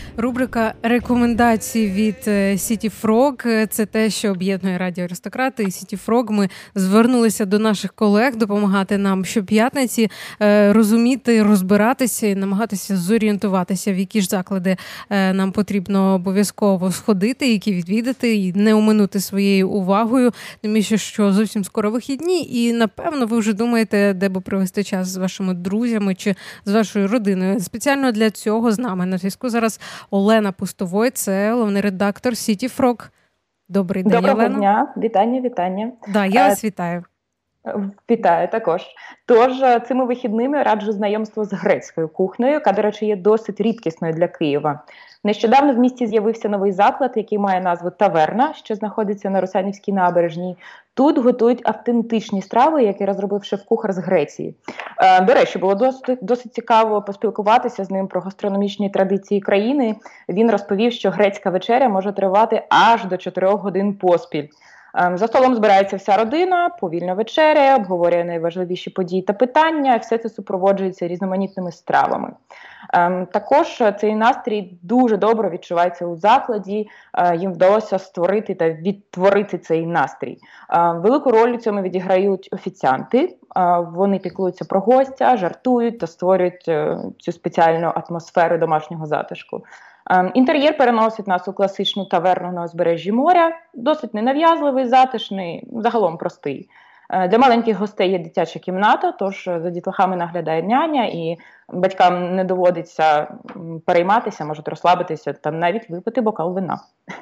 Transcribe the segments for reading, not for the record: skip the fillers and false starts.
Рубрика рекомендацій від City Frog – це те, що об'єднує Радіо Аристократи і City Frog. Ми звернулися до наших колег допомагати нам щоп'ятниці розуміти, розбиратися і намагатися зорієнтуватися, в які ж заклади нам потрібно обов'язково сходити, які відвідати і не оминути своєю увагою. Тим більше, що зовсім скоро вихідні і, напевно, ви вже думаєте, де би провести час з вашими друзями чи з вашою родиною. Спеціально для цього з нами на зв'язку зараз Олена Пустовой, це головний редактор City Frog. Добрий день, Олена. Доброго дня. Вітання. Да, я вас вітаю. Вітаю також. Тож, цими вихідними раджу знайомство з грецькою кухнею, яка, до речі, є досить рідкісною для Києва. Нещодавно в місті з'явився новий заклад, який має назву «Таверна», що знаходиться на Русанівській набережній. Тут готують автентичні страви, які розробив шеф-кухар з Греції. До речі, було досить цікаво поспілкуватися з ним про гастрономічні традиції країни. Він розповів, що грецька вечеря може тривати аж до 4 годин поспіль. За столом збирається вся родина, повільно вечеря, обговорює найважливіші події та питання, все це супроводжується різноманітними стравами. Також цей настрій дуже добре відчувається у закладі, їм вдалося створити та відтворити цей настрій. Велику роль у цьому відіграють офіціанти, вони піклуються про гостя, жартують та створюють цю спеціальну атмосферу домашнього затишку. Інтер'єр переносить нас у класичну таверну на узбережжі моря, досить ненав'язливий, затишний, загалом простий. Для маленьких гостей є дитяча кімната, тож за дітлахами наглядає няня, і батькам не доводиться перейматися, можуть розслабитися та навіть випити бокал вина.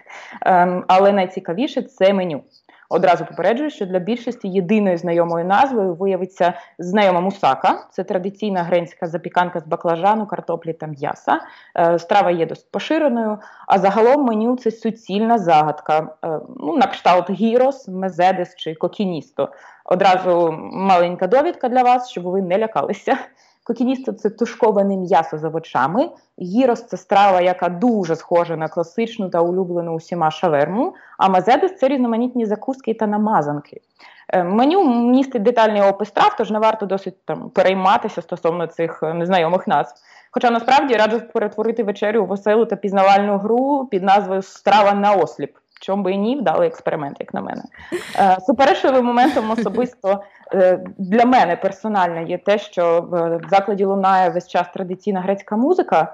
Але найцікавіше – це меню. Одразу попереджую, що для більшості єдиною знайомою назвою виявиться знайома мусака. Це традиційна грецька запіканка з баклажану, картоплі та м'яса. Страва є досить поширеною, а загалом меню – це суцільна загадка. На кшталт гірос, мезедес чи кокіністо. Одразу маленька довідка для вас, щоб ви не лякалися. Кокіністо – це тушковане м'ясо з овочами. Гірос – це страва, яка дуже схожа на класичну та улюблену усіма шаверму. А мазедес – це різноманітні закуски та намазанки. Меню містить детальний опис страв, тож не варто досить перейматися стосовно цих незнайомих назв. Хоча насправді раджу перетворити вечерю у веселу та пізнавальну гру під назвою «Страва на осліп». Чому би і ні, вдалий експеримент, як на мене. Суперечливим моментом особисто для мене персонально є те, що в закладі лунає весь час традиційна грецька музика.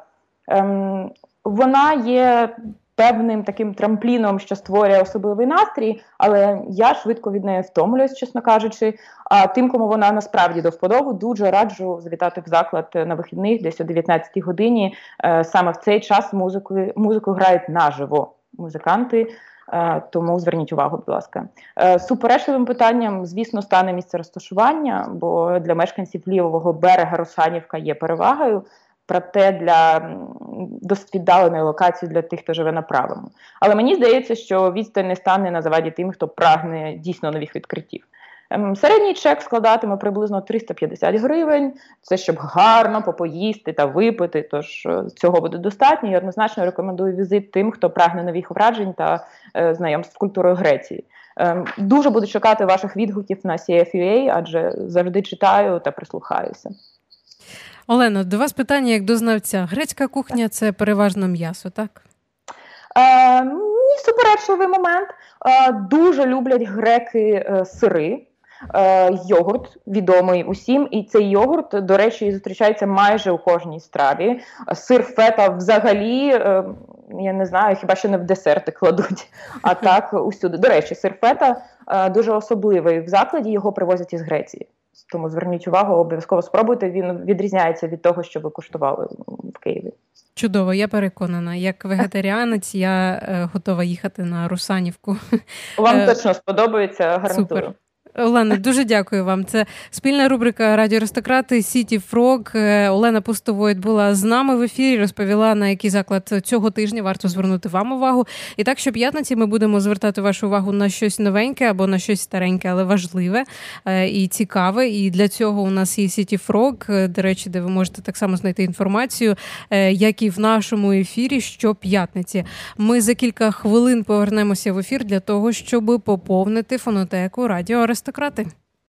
Вона є певним таким трампліном, що створює особливий настрій, але я швидко від неї втомлююсь, чесно кажучи. А тим, кому вона насправді до вподоби, дуже раджу завітати в заклад на вихідних, десь о 19-й годині. Саме в цей час музику грають наживо музиканти. Тому зверніть увагу, будь ласка. Суперечливим питанням, звісно, стане місце розташування, бо для мешканців лівого берега Русанівка є перевагою, проте для досить віддаленої локації для тих, хто живе на правому. Але мені здається, що відстань не стане на заваді тим, хто прагне дійсно нових відкриттів. Середній чек складатиме приблизно 350 гривень. Це щоб гарно попоїсти та випити, тож цього буде достатньо. І однозначно рекомендую візит тим, хто прагне нових вражень та знайомств з культурою Греції. Дуже буду чекати ваших відгуків на CFUA, адже завжди читаю та прислухаюся. Олено, до вас питання як до знавця. Грецька кухня – це переважно м'ясо, так? Суперечливий момент. Дуже люблять греки сири. Йогурт відомий усім, і цей йогурт, до речі, зустрічається майже у кожній страві. Сир фета взагалі, я не знаю, хіба що не в десерти кладуть, а так усюди. До речі, сир фета дуже особливий в закладі, його привозять із Греції. Тому зверніть увагу, обов'язково спробуйте, він відрізняється від того, що ви куштували в Києві. Чудово, я переконана. Як вегетаріанець я готова їхати на Русанівку. Вам точно сподобається, гарантую. Супер. Олена, дуже дякую вам. Це спільна рубрика «Радіо Аристократи» City Frog. Олена Пустовойт була з нами в ефірі, розповіла, на який заклад цього тижня варто звернути вам увагу. І так, щоп'ятниці ми будемо звертати вашу увагу на щось новеньке або на щось стареньке, але важливе і цікаве. І для цього у нас є City Frog, до речі, де ви можете так само знайти інформацію, як і в нашому ефірі щоп'ятниці. Ми за кілька хвилин повернемося в ефір для того, щоб поповнити фонотеку «Радіо Аристократи».